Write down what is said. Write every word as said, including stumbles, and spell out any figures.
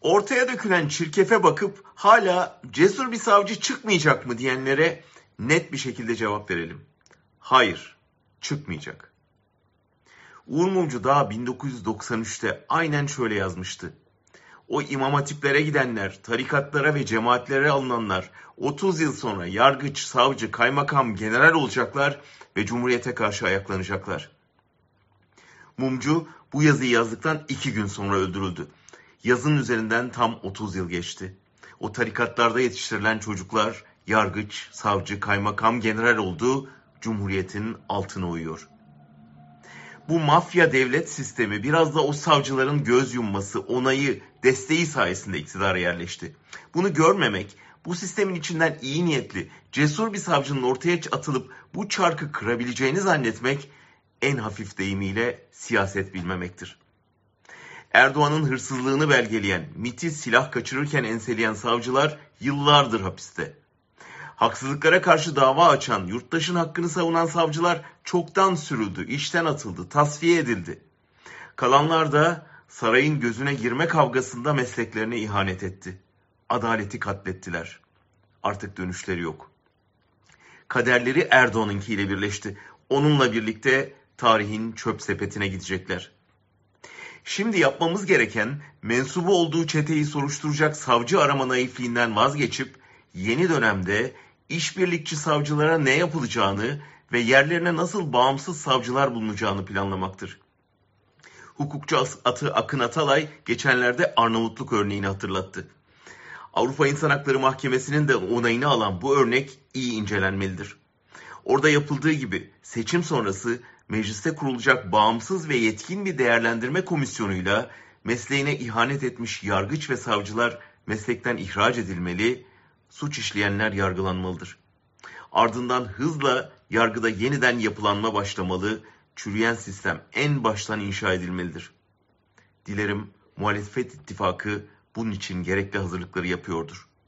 Ortaya dökülen çirkefe bakıp hala cesur bir savcı çıkmayacak mı diyenlere net bir şekilde cevap verelim. Hayır, çıkmayacak. Uğur Mumcu daha bin dokuz yüz doksan üçte aynen şöyle yazmıştı. O imam hatiplere gidenler, tarikatlara ve cemaatlere alınanlar otuz yıl sonra yargıç, savcı, kaymakam, general olacaklar ve cumhuriyete karşı ayaklanacaklar. Mumcu bu yazıyı yazdıktan iki gün sonra öldürüldü. Yazının üzerinden tam otuz yıl geçti. O tarikatlarda yetiştirilen çocuklar yargıç, savcı, kaymakam, general oldu, cumhuriyetin altına uyuyor. Bu mafya devlet sistemi biraz da o savcıların göz yumması, onayı, desteği sayesinde iktidara yerleşti. Bunu görmemek, bu sistemin içinden iyi niyetli, cesur bir savcının ortaya atılıp bu çarkı kırabileceğini zannetmek en hafif deyimiyle siyaset bilmemektir. Erdoğan'ın hırsızlığını belgeleyen, MİT'i silah kaçırırken enseleyen savcılar yıllardır hapiste. Haksızlıklara karşı dava açan, yurttaşın hakkını savunan savcılar çoktan sürüldü, işten atıldı, tasfiye edildi. Kalanlar da sarayın gözüne girme kavgasında mesleklerine ihanet etti. Adaleti katlettiler. Artık dönüşleri yok. Kaderleri Erdoğan'ınkiyle birleşti. Onunla birlikte tarihin çöp sepetine gidecekler. Şimdi yapmamız gereken mensubu olduğu çeteyi soruşturacak savcı arama naifliğinden vazgeçip yeni dönemde işbirlikçi savcılara ne yapılacağını ve yerlerine nasıl bağımsız savcılar bulunacağını planlamaktır. Hukukçu atı Akın Atalay geçenlerde Arnavutluk örneğini hatırlattı. Avrupa İnsan Hakları Mahkemesi'nin de onayını alan bu örnek iyi incelenmelidir. Orada yapıldığı gibi seçim sonrası mecliste kurulacak bağımsız ve yetkin bir değerlendirme komisyonuyla mesleğine ihanet etmiş yargıç ve savcılar meslekten ihraç edilmeli, suç işleyenler yargılanmalıdır. Ardından hızla yargıda yeniden yapılanma başlamalı, çürüyen sistem en baştan inşa edilmelidir. Dilerim muhalefet ittifakı bunun için gerekli hazırlıkları yapıyordur.